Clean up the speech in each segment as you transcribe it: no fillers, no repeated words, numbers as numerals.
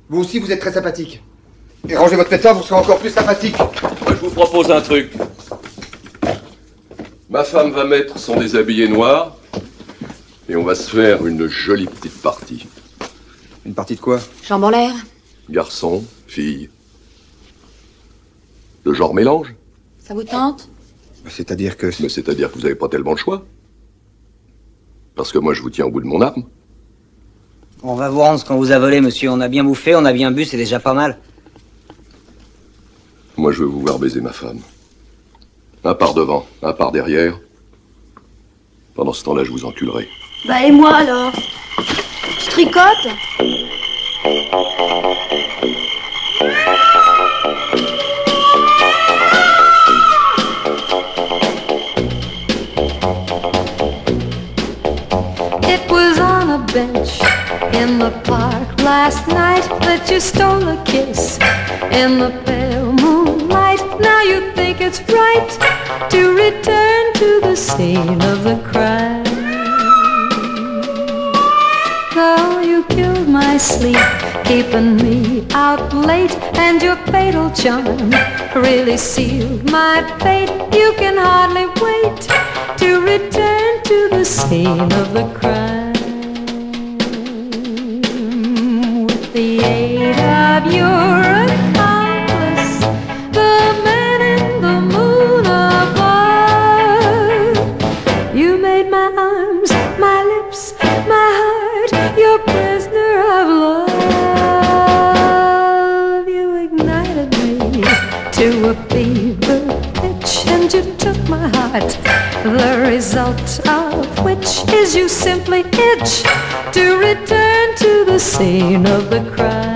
Vous aussi, vous êtes très sympathique. Et rangez votre pétard, vous serez encore plus sympathique. Moi, je vous propose un truc. Ma femme va mettre son déshabillé noir et on va se faire une jolie petite partie. Une partie de quoi? Jambes en l'air. Garçon, fille. Le genre mélange. Ça vous tente? C'est-à-dire que... Mais c'est-à-dire que vous n'avez pas tellement le choix. Parce que moi, je vous tiens au bout de mon arme. On va vous rendre ce qu'on vous a volé, monsieur. On a bien bouffé, on a bien bu, c'est déjà pas mal. Moi, je veux vous voir baiser ma femme. Un par devant, un par derrière. Pendant ce temps-là, je vous enculerai. Bah et moi alors? Je tricote? It was on a bench in the park last night that you stole a kiss in the pale moonlight. Now you think it's right to return to the scene of the crime. Though you killed my sleep, keeping me out late, and your fatal charm really sealed my fate. You can hardly wait to return to the scene of the crime. With the aid of your accomplice, the man in the moon above, you made my arms, my lips, my heart your prisoner of love. You ignited me to a fever pitch, and you took my heart, the result of which is you simply itch to return to the scene of the crime.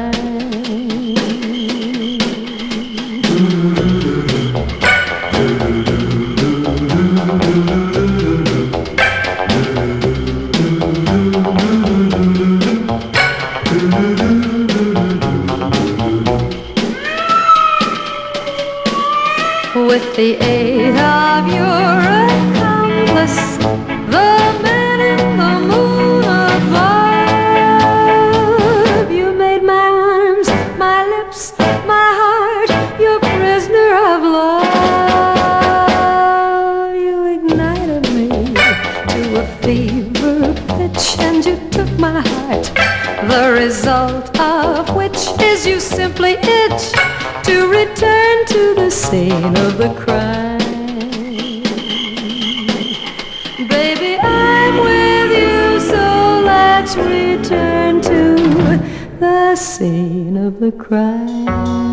With the aid of your accomplice, the man in the moon above, you made my arms, my lips, my heart your prisoner of love. You ignited me to a fever pitch, and you took my heart, the result of which is you simply itch to return to the scene of the crime. Baby, I'm with you, so let's return to the scene of the crime.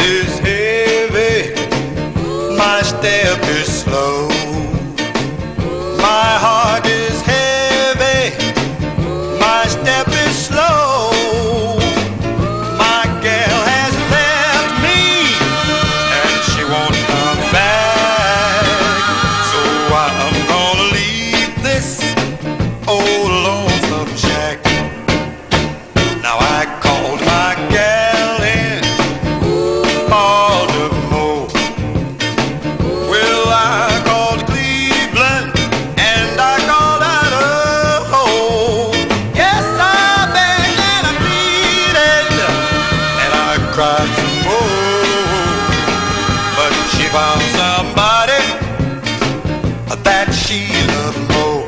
is heavy, my step is slow. My heart is heavy, my step is slow. My gal has left me, and she won't come back. So I'm gonna leave this old lonesome shack. Now I called my gal in Baltimore. Well, I called Cleveland and I called Idaho. Yes, I begged and I pleaded and I cried some more. But she found somebody that she loved more.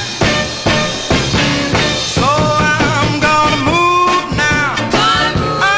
So I'm gonna move now.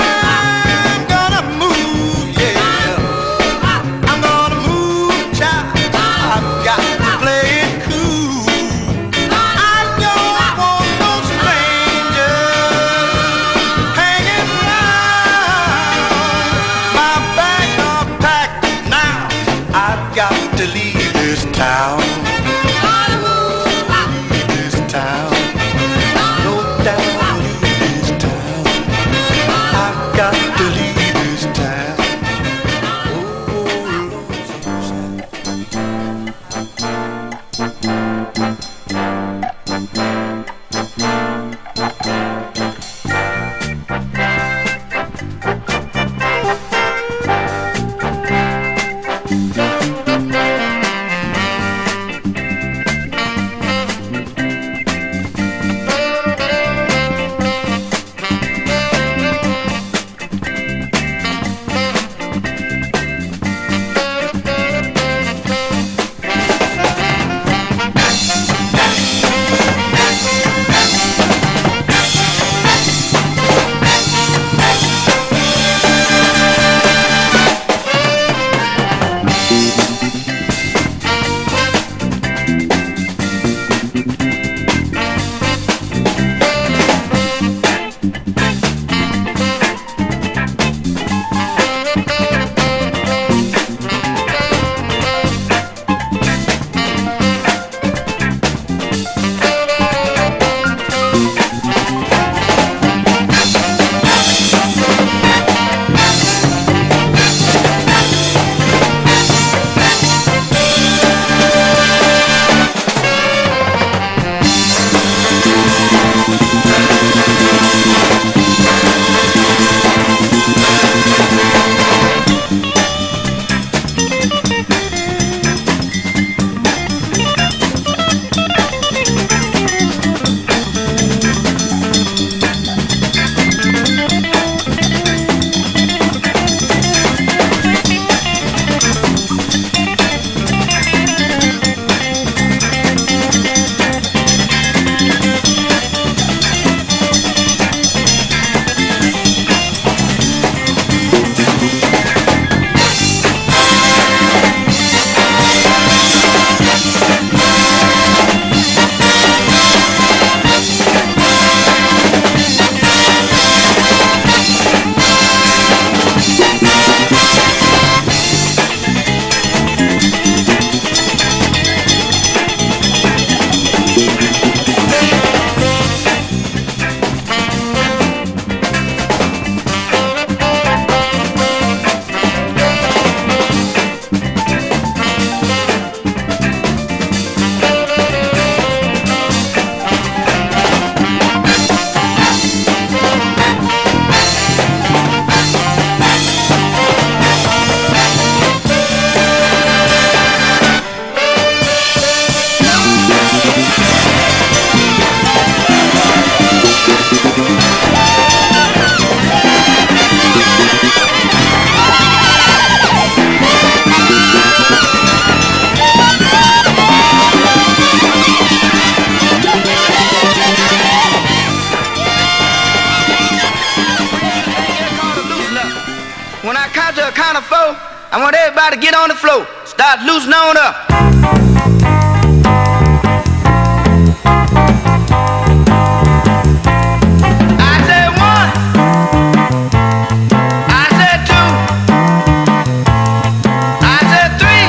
I want everybody to get on the floor. Start loosening on up. I said one. I said two. I said three.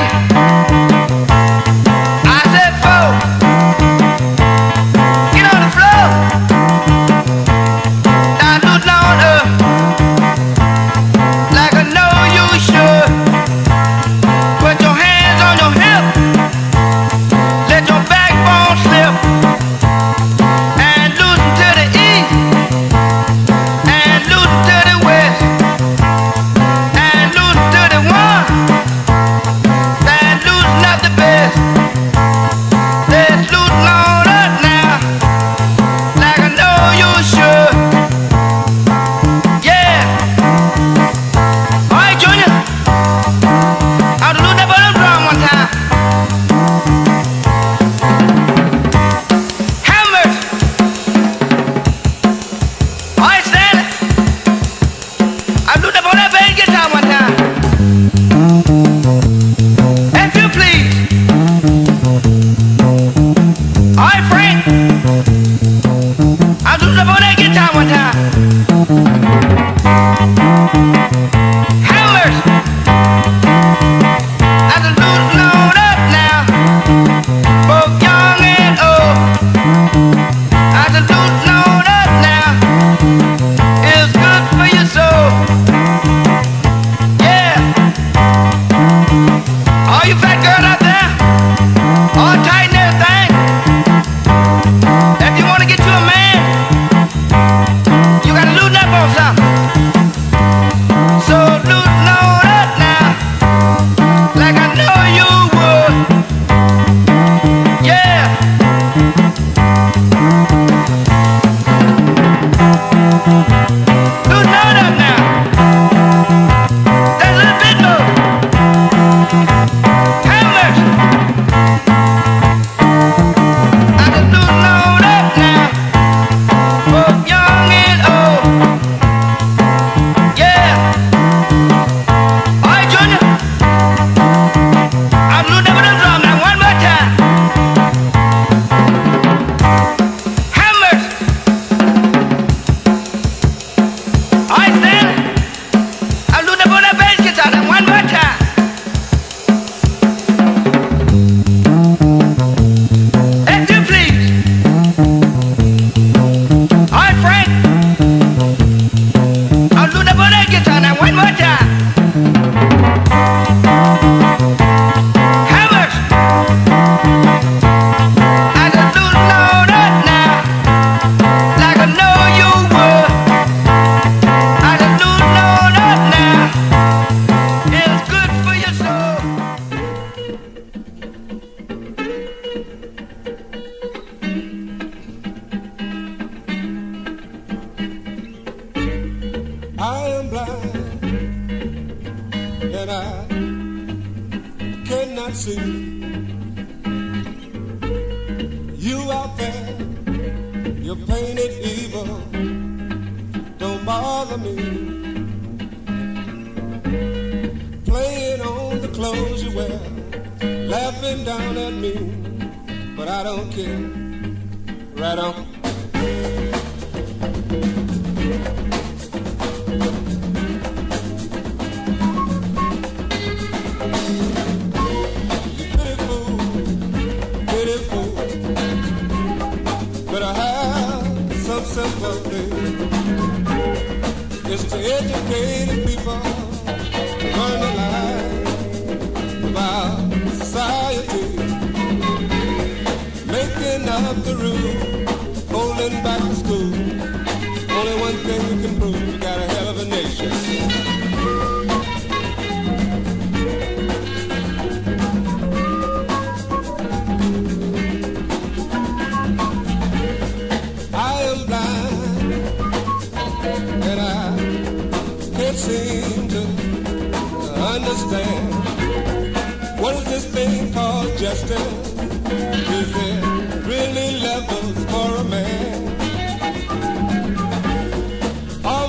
I said four. Get on the floor. Start loosening on up. Like I know you should. Put your hands on your hip. Let your backbone slip. And loosen to the east. And loosen to the west. And loosen to the one. And loosen up the best. Let's loosen on up now. Like I know you should. Yeah. Alright, Junior. I'll do that bottom drum one time. Hammers. Alright, Stanley. I'll do that on that bass guitar one time. If you please. Alright, Frank. I'll do that on that guitar one time. Hammers. I just loosen on up now, both young and old. I just loosen on up now, it's good for your soul. Yeah. All you fat girls out there, all tight and everything. If you want to get you a man, you gotta loosen up on something. So loosen on up now. Like I know you would. Yeah. Loosen on up now. That's a little bit more. Hammers. I just loosen on up now. Both young and old. Yeah. All right, Junior. I'm looking up the drum now one more time. Hammers. All right, Stanley. I'm looking up that bass guitar now one more time. If you please. All right, Frank. I'm looking up that guitar now one more time. Hammers. I just loosen on up now, like I know you would. I just loosen on up now, it's good for your soul. I am blind and I cannot see. You out there, you're painted evil. Don't bother me. Playing on the clothes you wear, laughing down at me, but I don't care. Right on. It's to educate people, learn the life about society, making up the rules, holding back the school. Only one thing you can prove, you got a hell of a nation. I am blind and I can't seem to understand what is this thing called justice? Is there really levels for a man? All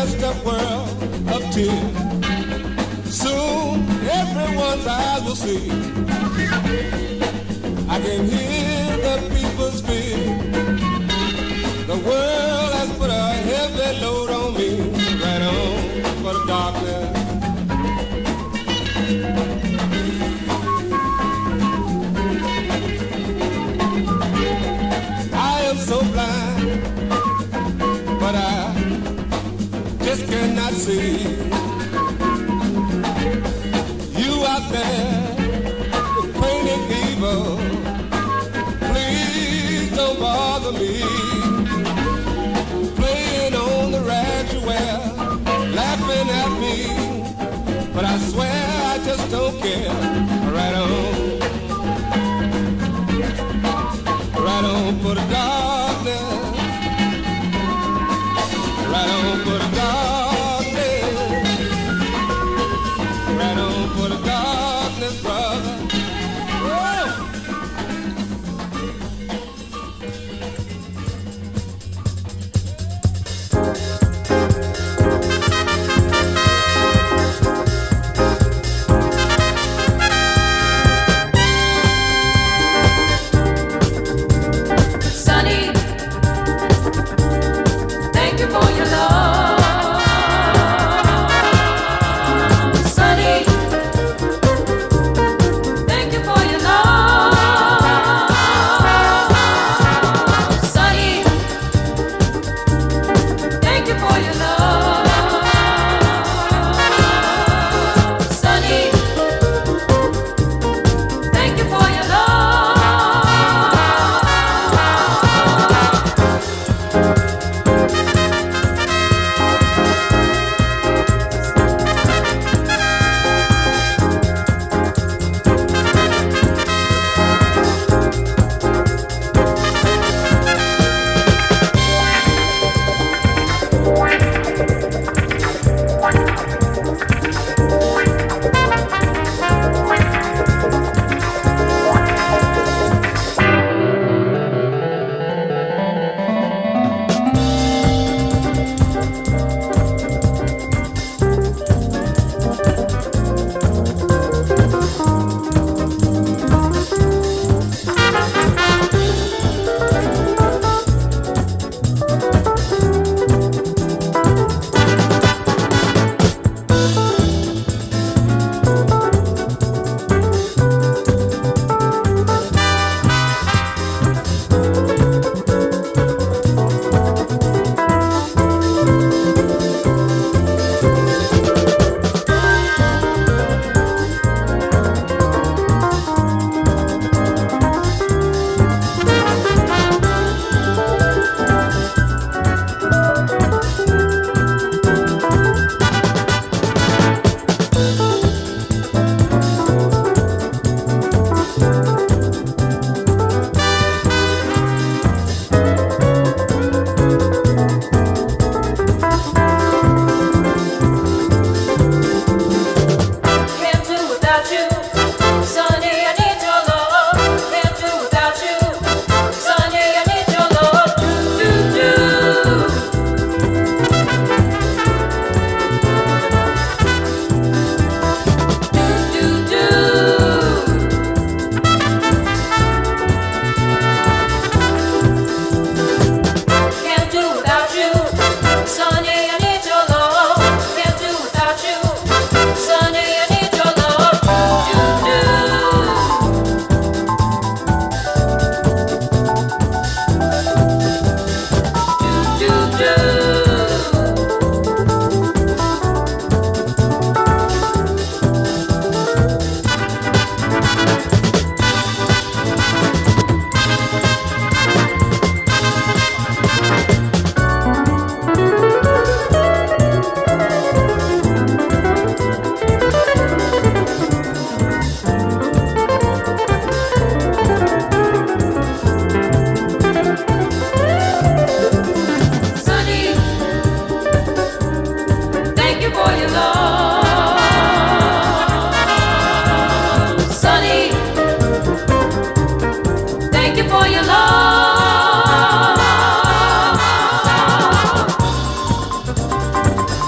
just a world of tears. Soon everyone's eyes will see. I can hear the people speak. The world has put a heavy load on me. Right on for the darkness. I am so blind, but I just cannot see. You out there, the painted evil, please don't bother me. Playing on the rags you wear, laughing at me, but I swear I just don't care. Right on for the darkness. Right on for the darkness. Right on for the darkness, brother. Whoa. Sunny, thank you for your love. Sunny, thank you for your love. Sunny, thank you for your love. Sunny, thank you for your love. Can't do without you, Sunny. I need your love. Can't do without you, Sunny. I need your love. Do do do do do. Can't do without you, Sunny. I need your love. Can't do without you, Sunny. I need your love. Do do. Do do Sunny, thank you for your love. Sunny, thank you for your love.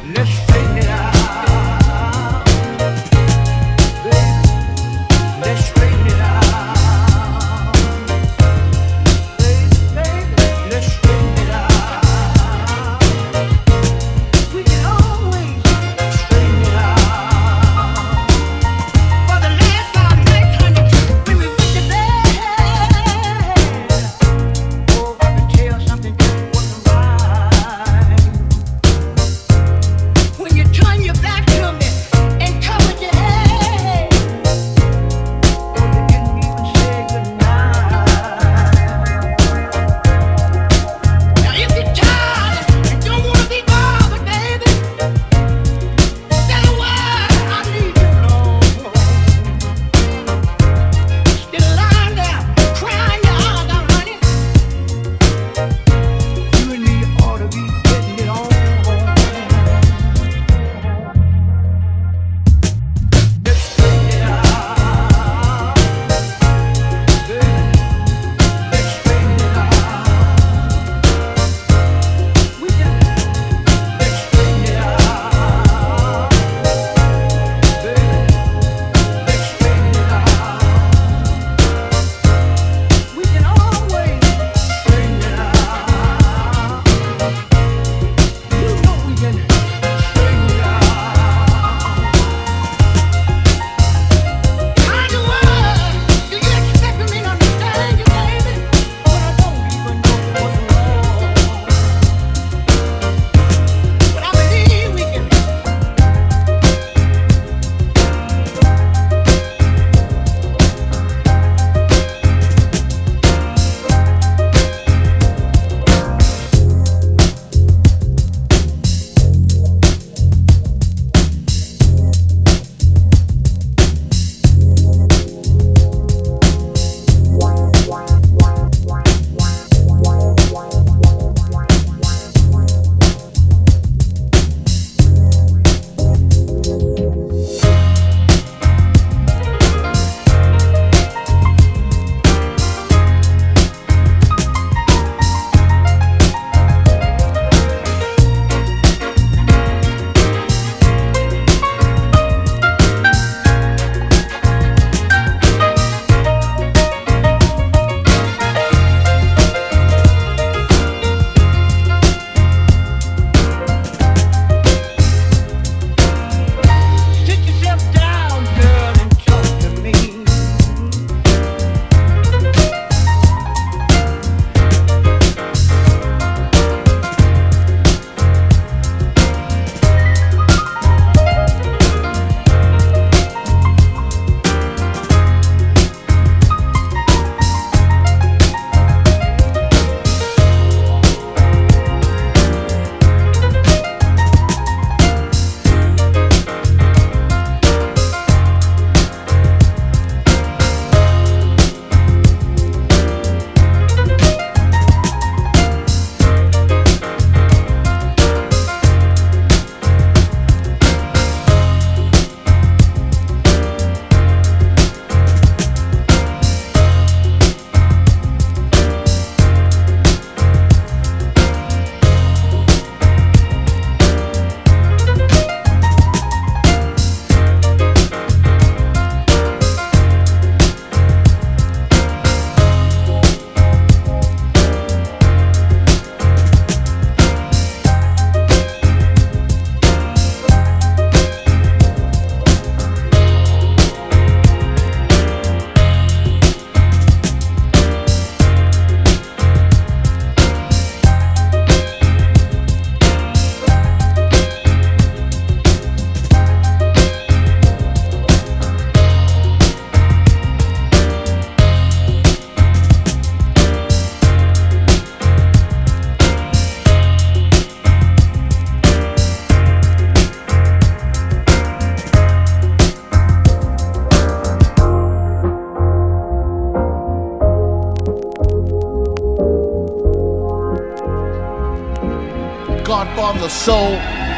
Godfather of Soul,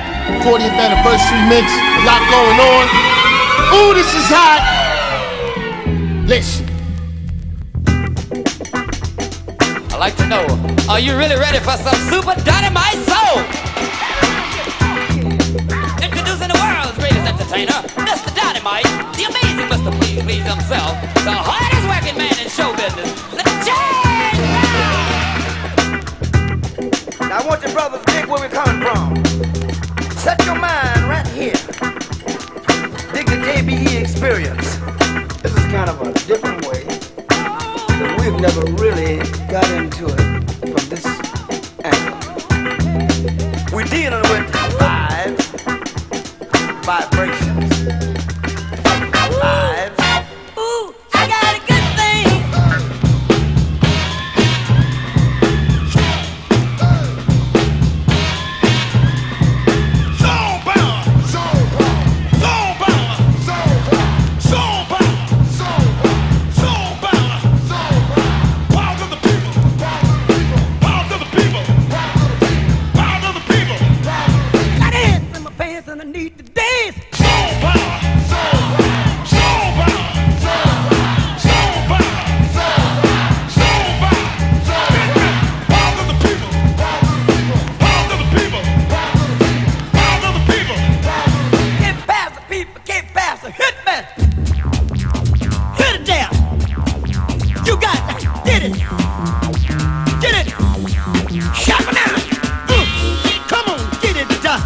40th anniversary mix, a lot going on. Ooh, this is hot. Listen. I'd like to know, are you really ready for some super dynamite soul? entertainer, Mr. Dynamite, the amazing Mr. Please Please himself, the hardest working man in show business, the James Brown! Now I want you brothers to dig where we're coming from. Set your mind right here. Dig the JBE experience. This is kind of a different way, but we've never really got into it from this angle. We're dealing with vibrations. Lives. Ooh, I got a good thing. Got ants in my pants and I need to dance. Get past the people, get past the hit man. Hit it down. You got it. Did it. Get it. Shut it down. Come on, get it done.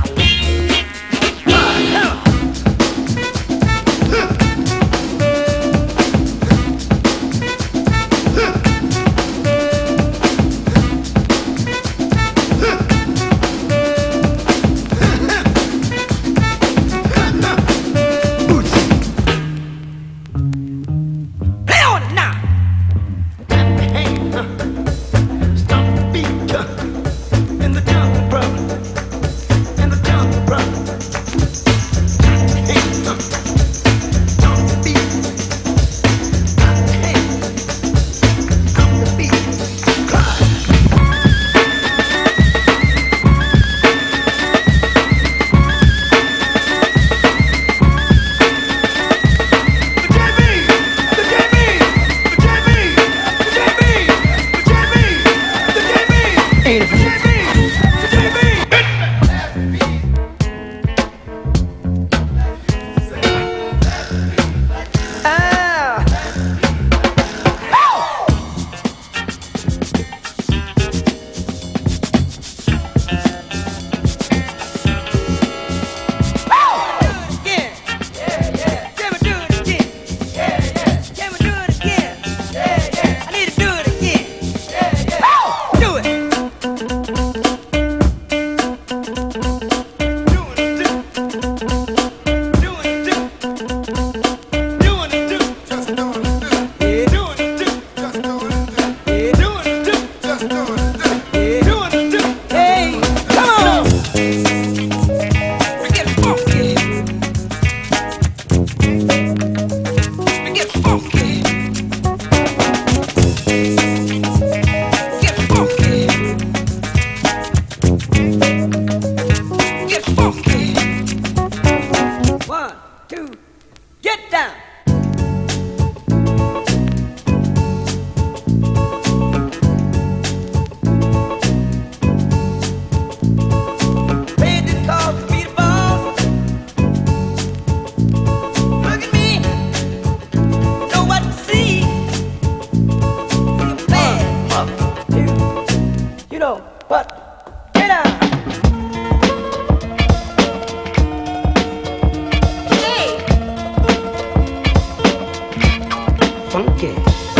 Play on it now. Stop the beat in the jungle, brother. In the jungle, brother. Stop the beat. Stop the beat. Cry. One, two, get down. Paid the cost to be the boss. Look at me, know what to see. See a bad, you know what? Get down. Funky.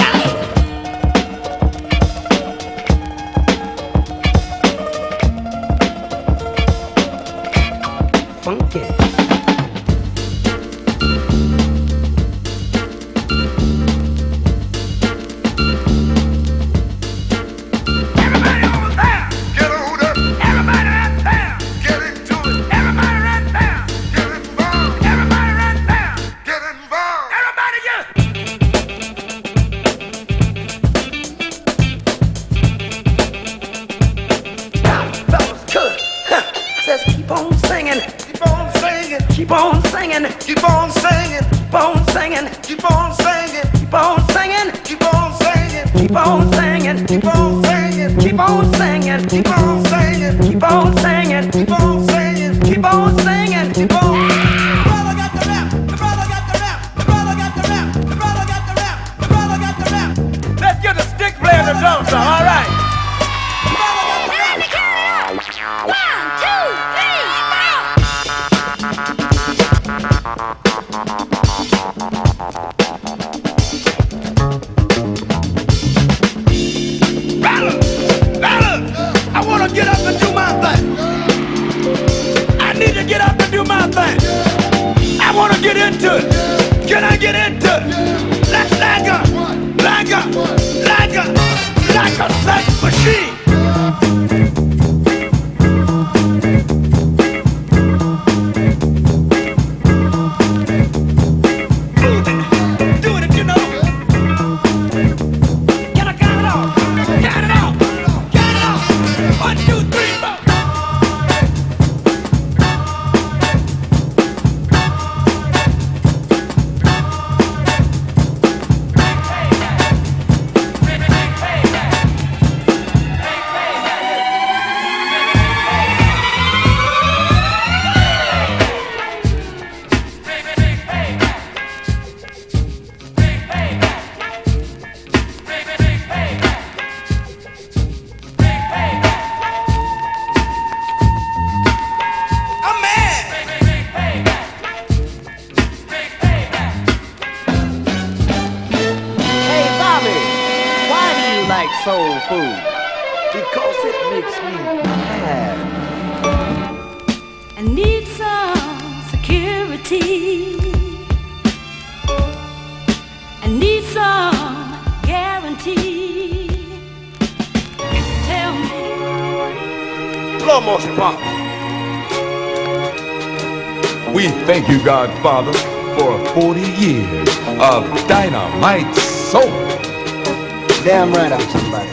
Funky. Everybody over there, get on up. Everybody right there, get into it. Everybody right there, get involved. Everybody right there, get involved. Everybody get. Fellas, good. Says keep on singing, keep on singing, keep on singing, keep on singing, keep on singing, keep on singing, keep on singing, keep on singing, keep on singing, keep on singing, keep on singing, keep on singing, keep on singing, keep on singing, keep on singing, keep on. Well, I got the into it? Can I get into it? Like a sex machine. Soul food because it makes me mad. I need some security. I need some guarantee. Tell me. Slow motion pop. We thank you, Godfather, for 40 years of dynamite soul. Damn right I'm somebody.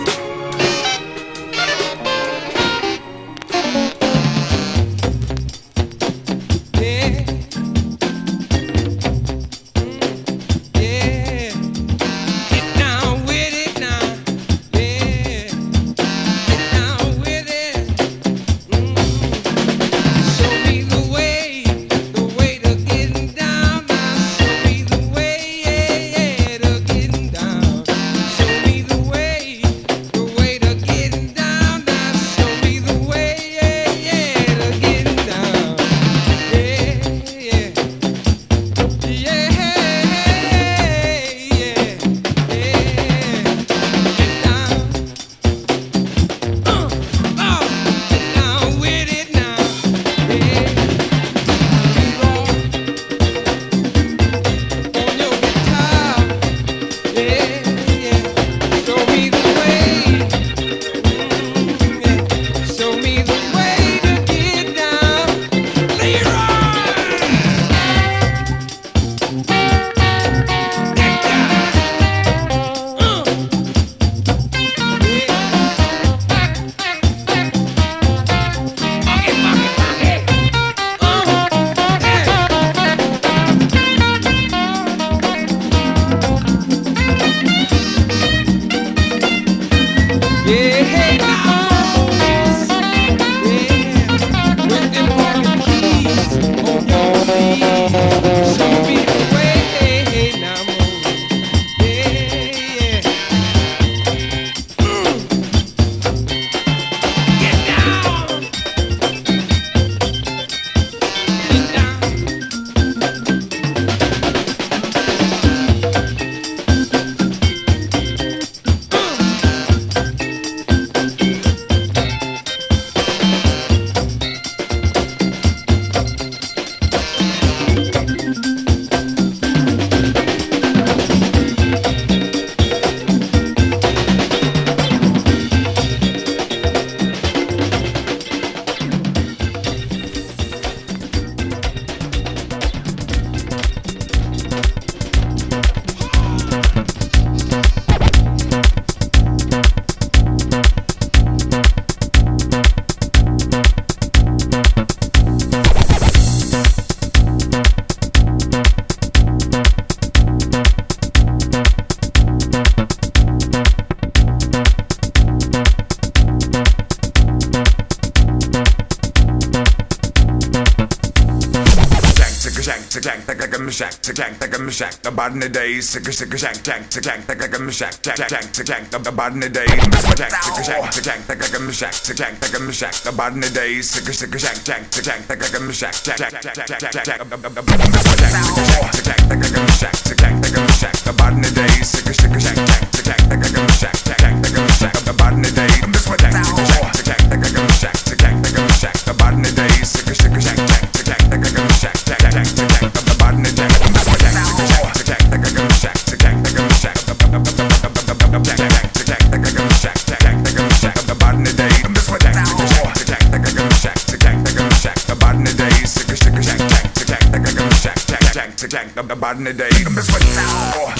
The body in the days, sick a shank, shank, like a shack, the body in the days, shank, like a shack, the body in the days, sick a shank, like a shack, the body in the days, sick a shank, like a shack, the body in the days, the body in the days, sick a shank, like a shack, the body in the days. the body day. Miss what now?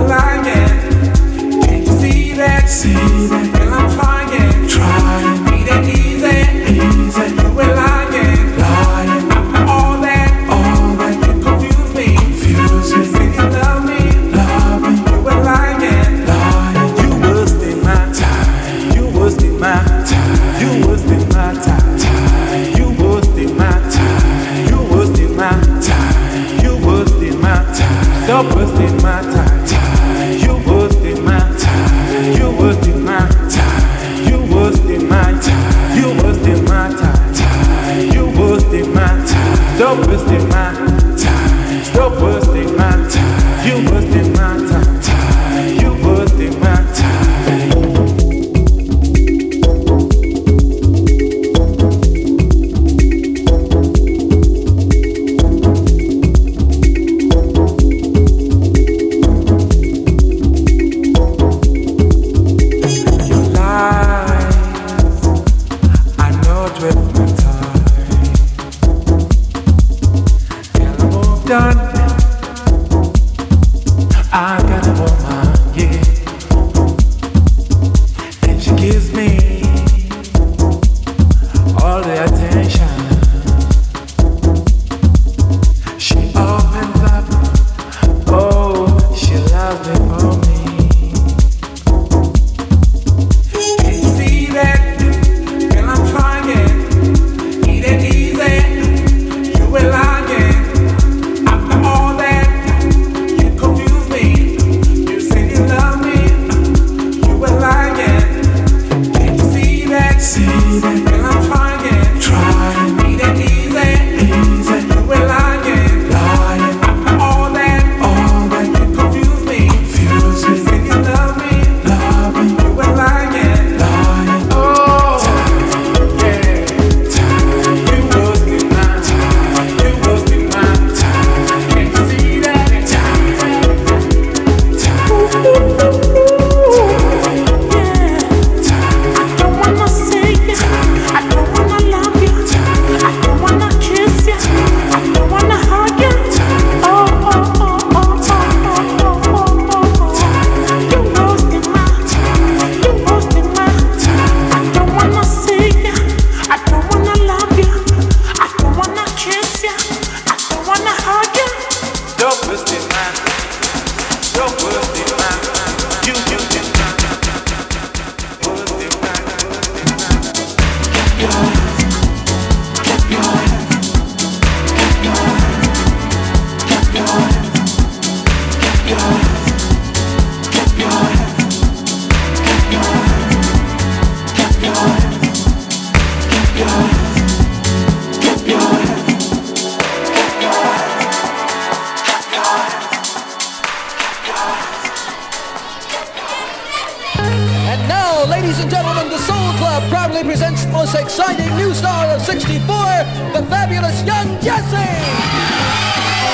See that, girl, I'm trying. gives me all the attention. She opens up, oh, she loves me for me. Can you see that? Girl, I'm trying. Eat it easy. You were lying. After all that, you confuse me. You say you love me. You were lying. Can't you see that? See that? Girl, I'm trying. Eat it easy. Easy. You were lying. Lying. After all that, you confuse me. Confuse me. You say you love me. Love me. You were lying. Lying. Oh, time. Yeah. Time. You was in my time. You was in my time. Can't you see that? Time. Time. I don't wanna see you. I don't wanna love you. I don't wanna kiss you. I don't wanna hug you. Oh, oh, oh, oh, oh, oh, oh, oh, oh. You roasting my. You roasting my. I don't wanna see you. I don't wanna love you. I don't wanna kiss you. I don't wanna hug you. You're twisted mind. You're twisted mind. You twisted mind. Twisted mind. And now, ladies and gentlemen, the Soul Club proudly presents the most exciting new star of 64, the fabulous Young Jesse!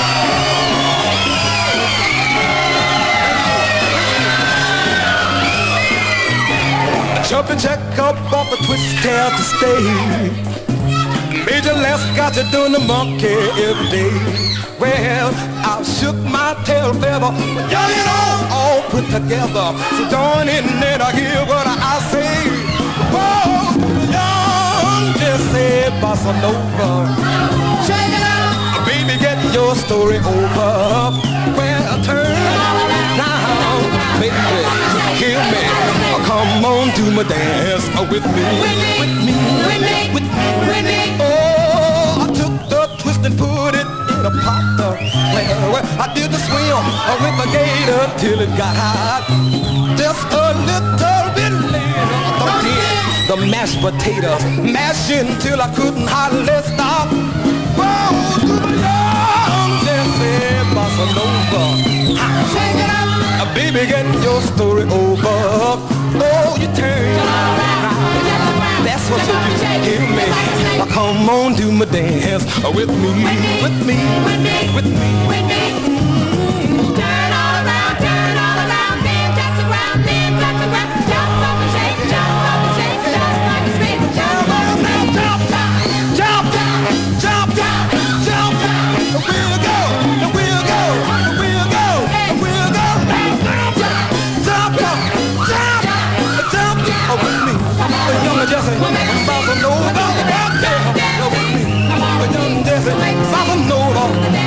Jumping jack up off a twist tail to stay. Major Les got you doing the monkey every day. Well, I shook my tail feather, young and all put together. So join in and I hear what I say. Whoa, Young Jesse Bossa Nova. Check it out, baby, get your story over. Well, turn now, baby, hear me. Come on, do my dance with me. With me, with me, with me, with me. Oh, I took the twist and put it in a pot. Well, I did the swim with the gator till it got hot. Just a little bit later, I did the mashed potatoes, mashing till I couldn't hardly stop. Whoa, to the Young Jesse Bossa Nova. Check it out. Baby, get your story over. Oh, you turn around. That's what you do. Hear me. Now come on, do my dance with me, with me, with me, with me, with me. Turn all around, then touch the ground, then touch the ground. Jump up and shake, just like a spin. Jump up, jump, jump, jump, jump, jump. We'll go, we'll go, we'll go, we'll go. Jump, jump, jump, jump, jump. With me, Young Jesse Bossa Nova. With me, Young Jesse Bossa Nova.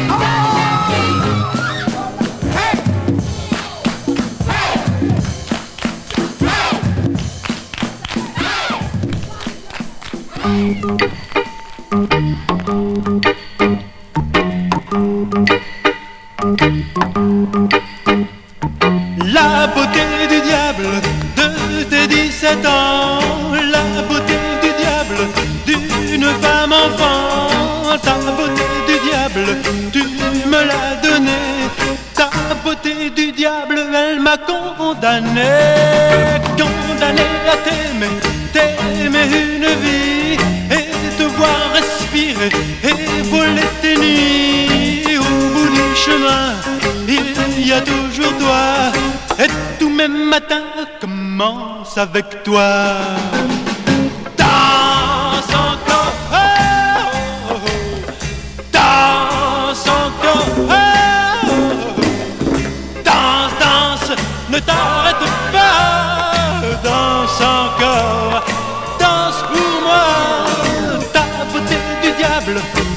Hey, La beauté du diable de tes 17 ans, la beauté du diable d'une femme enfant, ta beauté du diable, tu me l'as donnée, ta beauté du diable, elle m'a condamné à t'aimer une vie et te voir respirer et voler tes nuits. Au bout du chemin, il y a toujours toi, et tous mes matins commencent avec toi. Danse encore, oh, oh, oh. Danse encore, oh, oh, oh. Danse, danse, ne t'arrête pas, danse encore.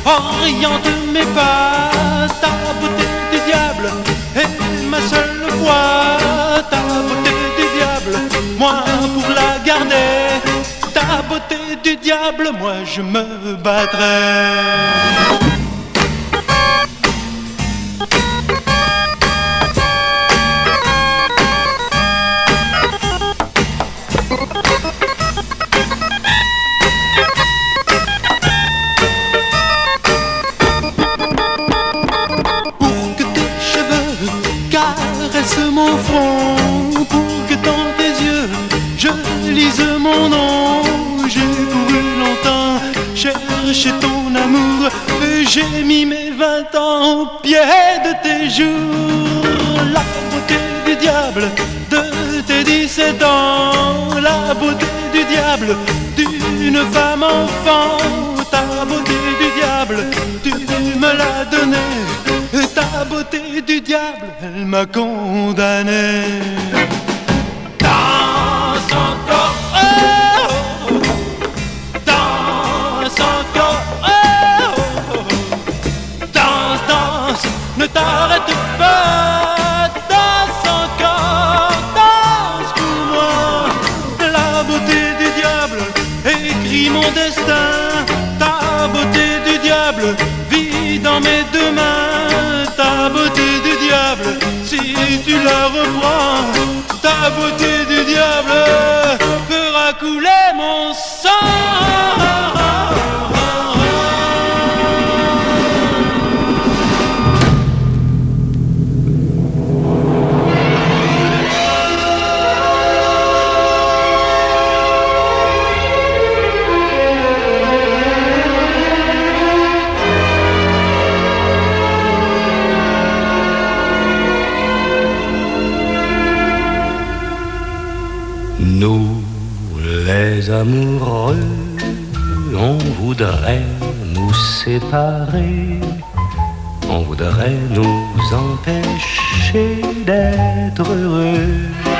oriente mes pas. Ta beauté du diable est ma seule voie. Ta beauté du diable, moi pour la garder. Ta beauté du diable, moi je me battrai. Mon front, pour que dans tes yeux je lise mon nom. J'ai couru longtemps, cherché ton amour, et j'ai mis mes 20 ans au pied de tes jours. La beauté du diable de tes 17 ans, la beauté du diable d'une femme enfant. Ta beauté du diable, tu me l'as donnée. Ta beauté du diable, elle m'a condamné. Danse encore, oh, oh, oh. Danse encore, oh, oh, oh. Danse, danse, ne t'arrête pas. Danse encore, danse pour moi. La beauté du diable écrit mon destin. Ta beauté du diable vit dans mes deux mains. Ta beauté du diable, si tu la reprends, ta beauté du diable fera couler mon sang. Nous, les amoureux, on voudrait nous séparer, on voudrait nous empêcher d'être heureux.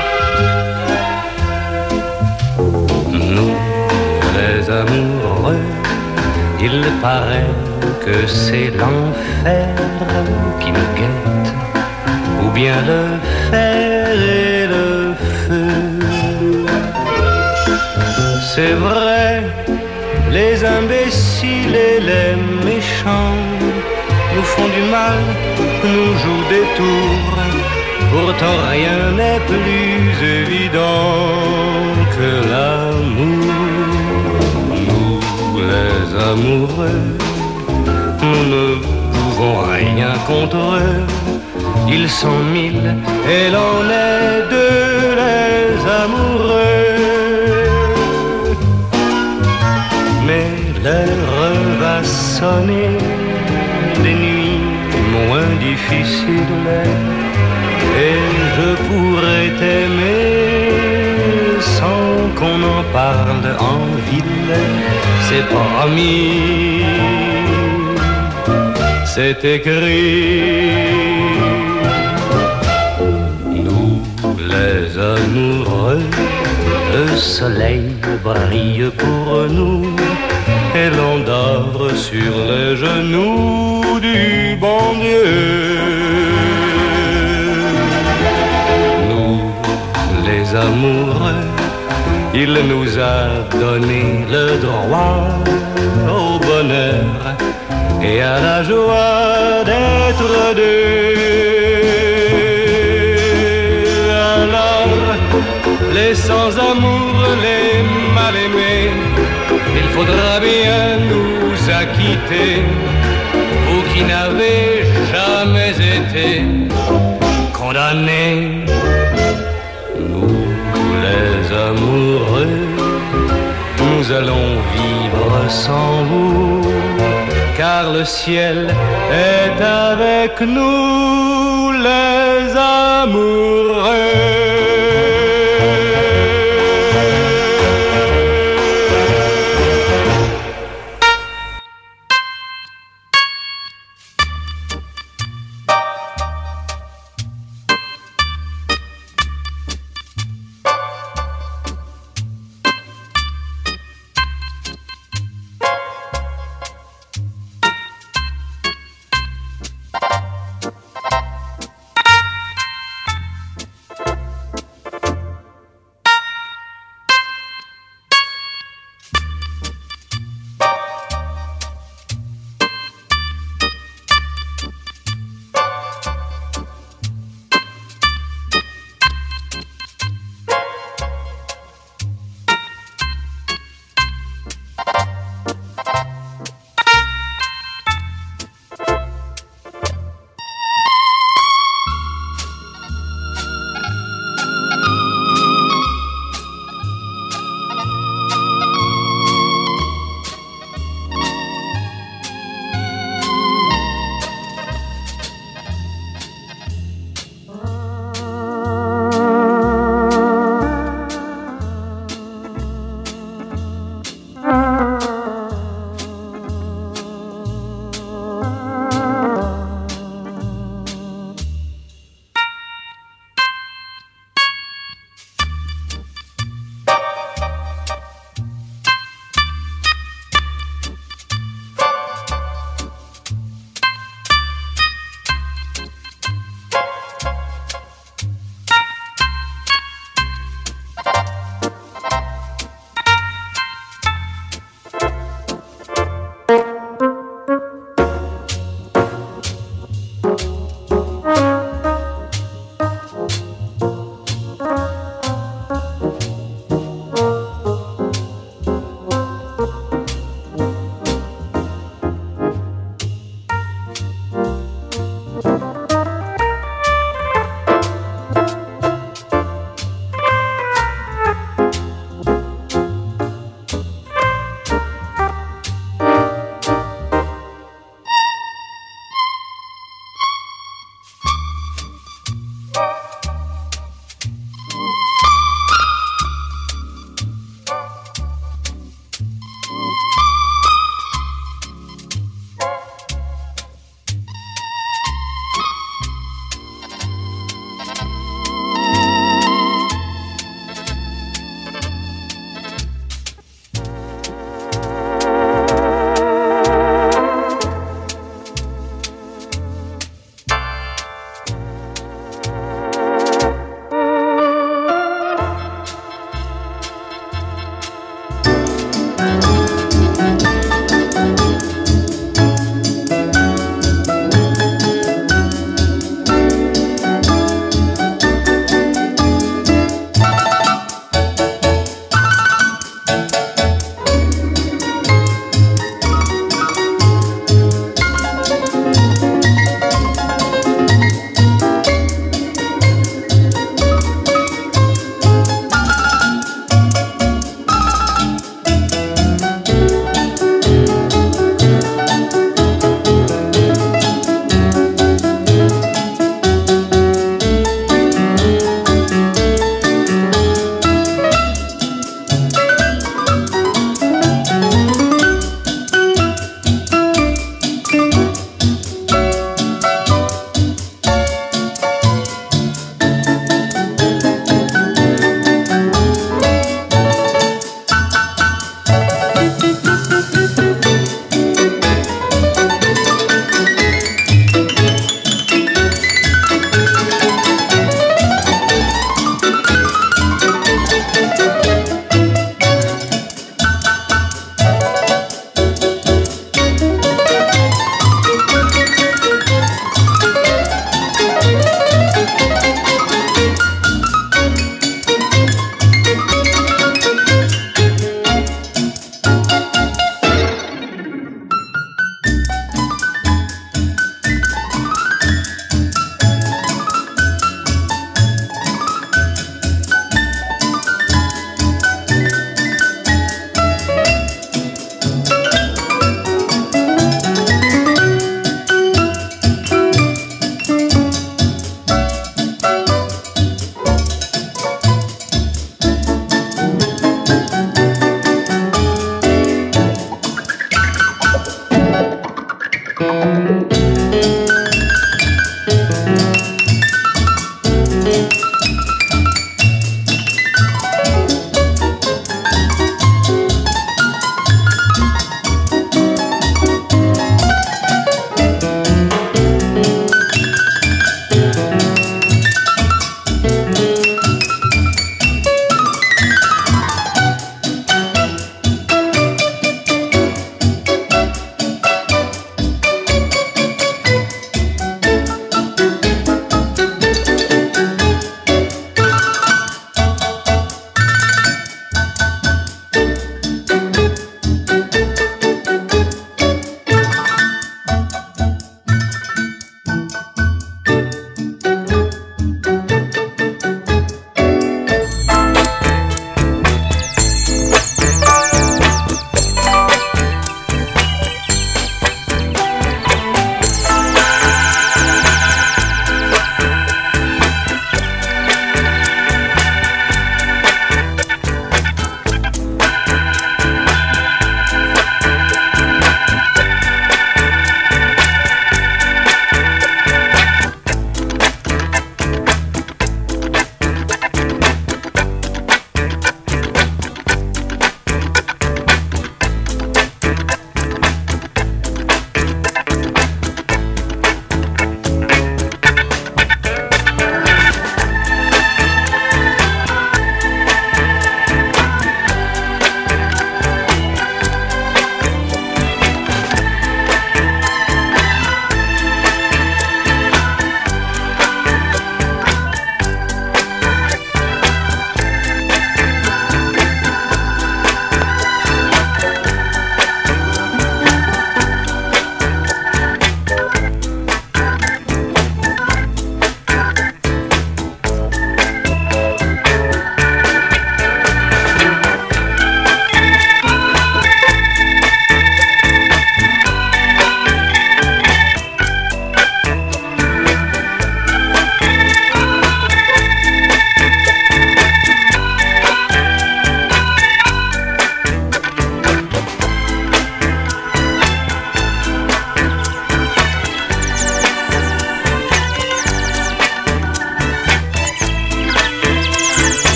Nous, les amoureux, il paraît que c'est l'enfer qui nous guette, ou bien le fer et le feu. C'est vrai, les imbéciles et les méchants nous font du mal, nous jouent des tours. Pourtant rien n'est plus évident que l'amour. Nous, les amoureux, nous ne pouvons rien contre eux. Ils sont 1000 et l'on est deux, les amoureux. Mais l'heure va sonner, des nuits moins difficiles, et je pourrais t'aimer sans qu'on en parle en ville. C'est promis, c'est écrit. Nous, les amoureux, le soleil brille pour nous et l'on dort sur les genoux du bon Dieu. Nous, les amoureux, il nous a donné le droit au bonheur et à la joie d'être deux. Alors, les sans-amour, les mal-aimés, il faudra bien nous acquitter, vous qui n'avez jamais été condamnés. Nous, les amoureux, nous allons vivre sans vous, car le ciel est avec nous, les amoureux.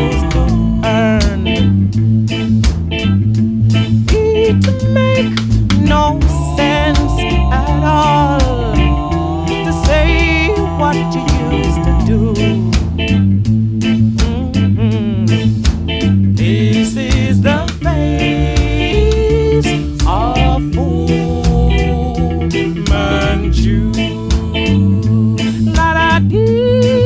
used to earn. It make no sense at all to say what you used to do. This is the face of Fu Manchu. La da dee.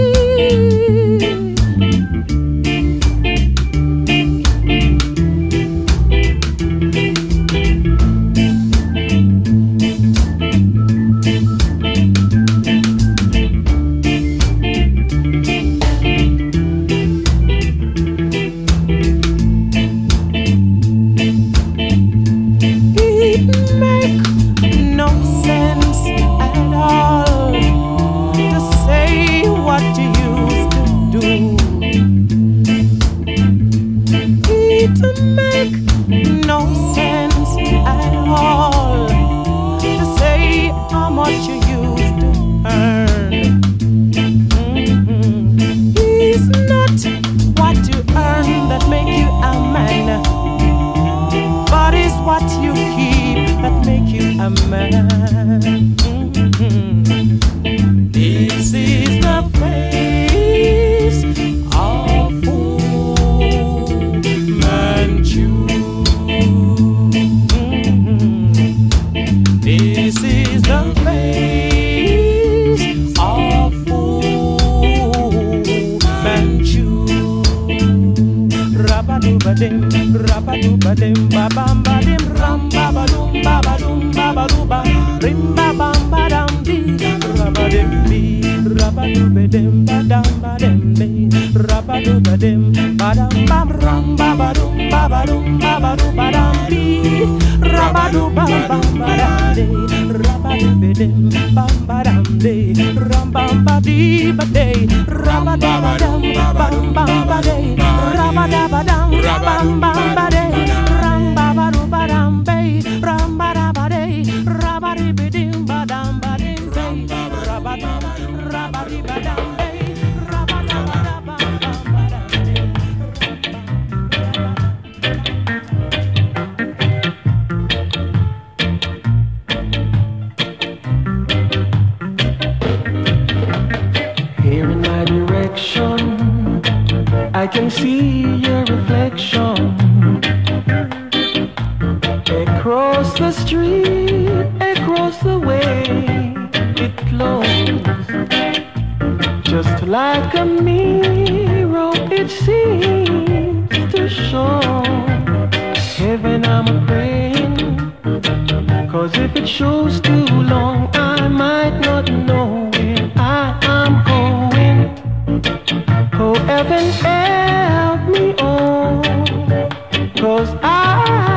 This is the face of Fu Manchu. This is the face of Fu Manchu. Rabadubadem, rabadubadem, babambadim, rambabadum, babadum, babaduba, rimbabambadam, rabadem, rabadubadem, badam, badem, rabadubadem, badam, bam, rambabadum, babadum, babadubadam, rabadubabam, badam, rabadubadem, bambadam, rambambadi, bade, rabadabadam, bambambade, rabadabadam, bambambade, rambabadubadam, rambadabade, rabadibidim, badam, badim, rabadibadam, Here in my direction, I can see your reflection. Across the street, across the way, it flows. Just like a mirror, it seems to show. Heaven, I'm praying, 'cause if it shows too long, I might not know where I am going. Oh, heaven, help me, oh, 'cause I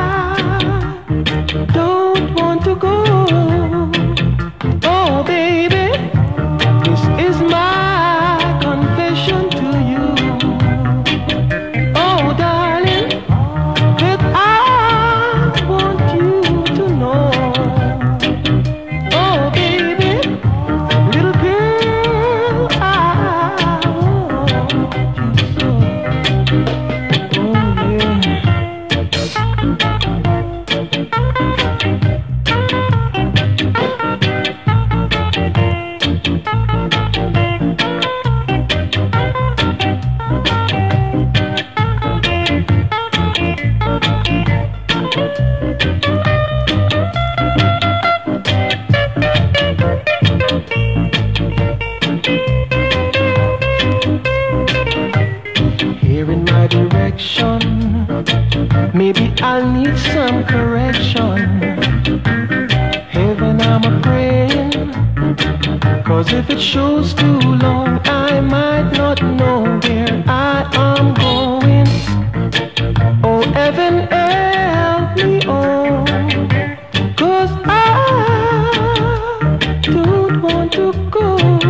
don't want to go. Oh, baby, this is my confession to you. Oh, darling, that I want you to know. Oh, baby, little girl, I want you so. Oh, yeah. Here in my direction, maybe I'll need some correction. Heaven, I'm praying, 'cause if it shows too long, I might not know where I am going. Oh, heaven, help me, oh, 'cause I don't want to go.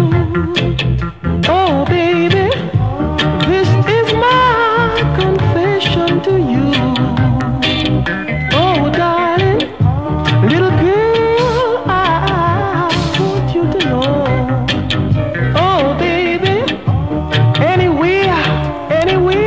Oh, baby, this is my confession to you. Oh, darling, little girl, I want you to know. Oh, baby, anywhere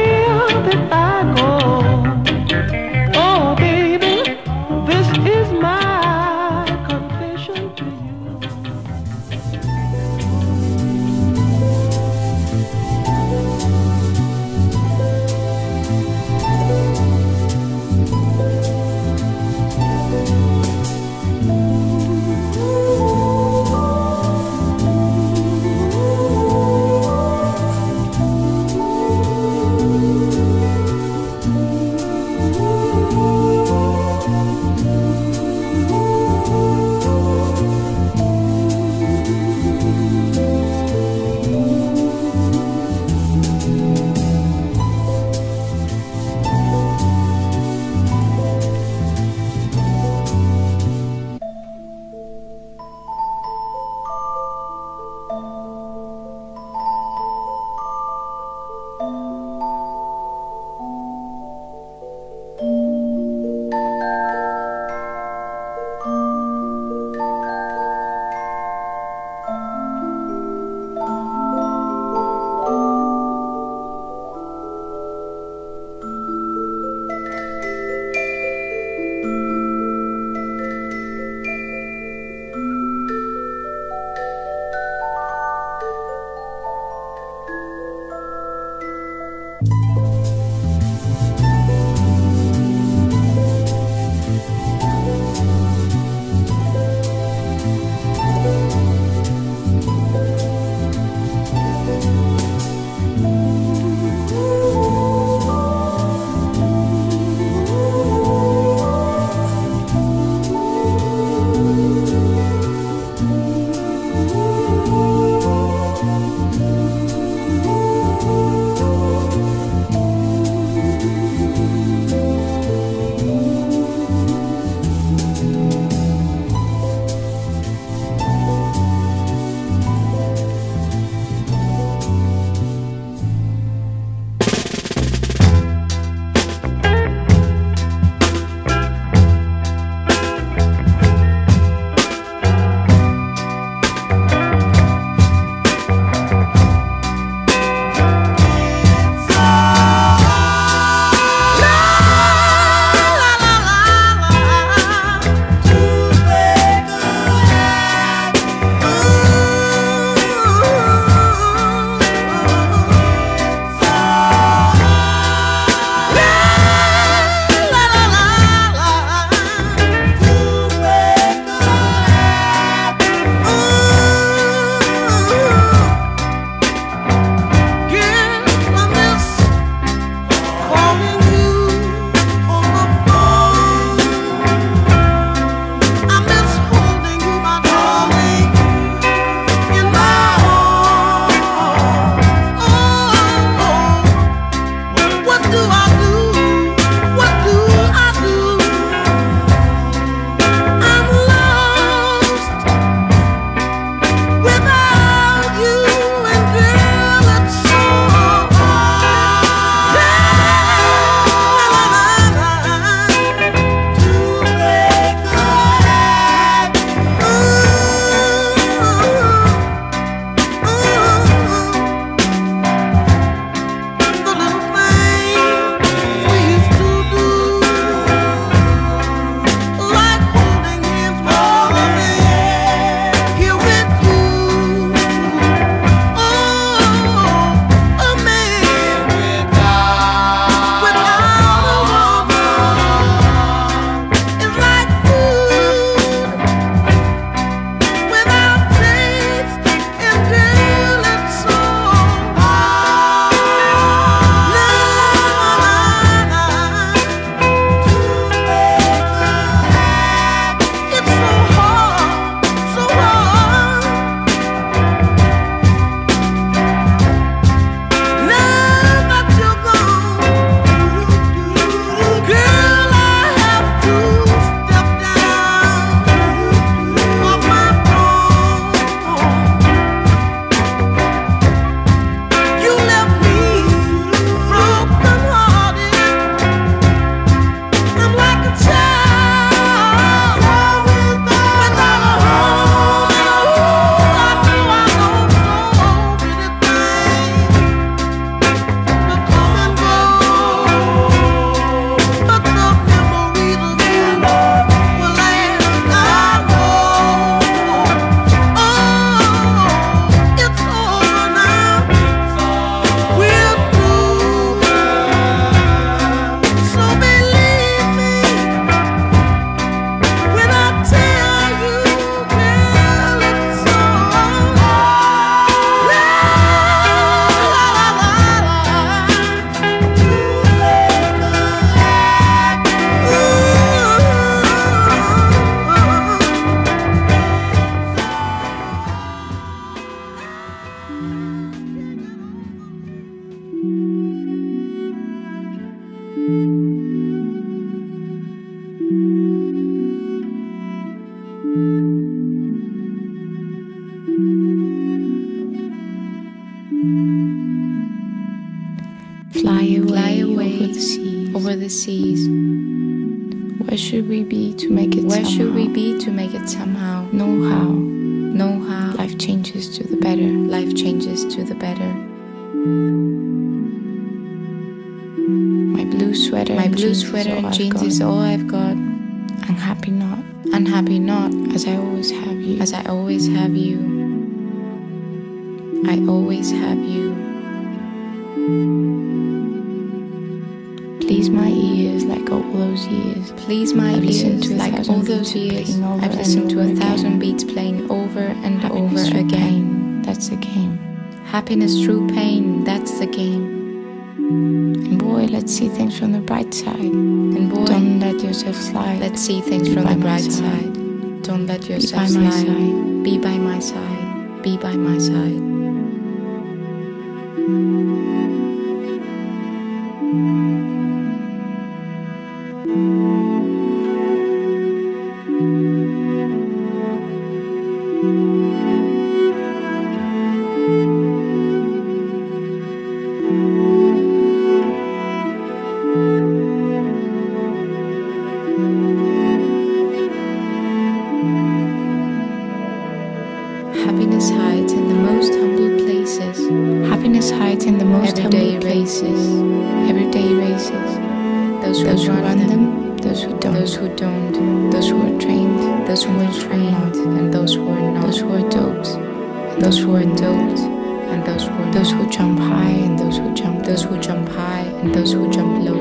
Fly away over the seas. Where should we be to make it Where somehow? should we be to make it somehow? Know how. Know how. Life changes to the better. Life changes to the better. My blue sweater and jeans is all I've got. Unhappy not. Unhappy not. As I always have you. As I always have you. I always have you. Please my ears like all those years. Please my ears like all those years. I've listened to 1,000 beats playing over and Happiness over through again. pain, that's the game. Happiness through pain, that's the game. And boy, let's see things from the bright side. And boy, don't let yourself slide. Let's see things from the bright side. Don't let yourself slide. Be by my side. Be by my side. Happiness hides in the most humble places. Happiness hides in the most Everyday humble races. places. Everyday races. Those who run them, those who don't. those who don't, Those who are trained. those who are trained, and those who are not. Those who are dopes. Those who are doped, and those who are Those not. who jump high and those who jump Those who jump high and those who jump low.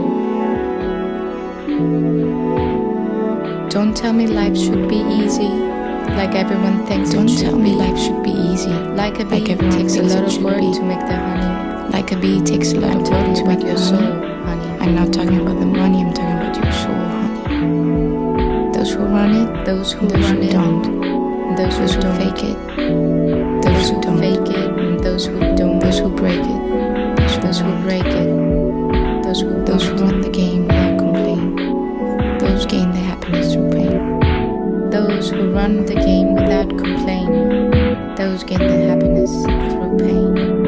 Don't tell me life should be easy, like everyone thinks Don't it should tell be. me life should be easy. Like a bee Like everyone takes a thinks lot it of should work be. to make the honey. Like a bee takes a lot of work to make your your soul, soul. honey. I'm not talking about the money, I'm talking about your soul, honey. Those who run it, Those who those run who it, don't. those Those who who don't. fake it, Those who don't. fake it, and those who don't. Those who break it, Those who break it. Those who those who run the game without complaint. Those gain the happiness through pain. Those who run the game without complaint. Those gain the happiness through pain.